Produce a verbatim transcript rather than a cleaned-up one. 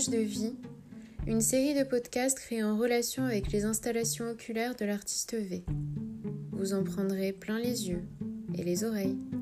Images de vie, une série de podcasts créés en relation avec les installations oculaires de l'artiste V. Vous en prendrez plein les yeux et les oreilles.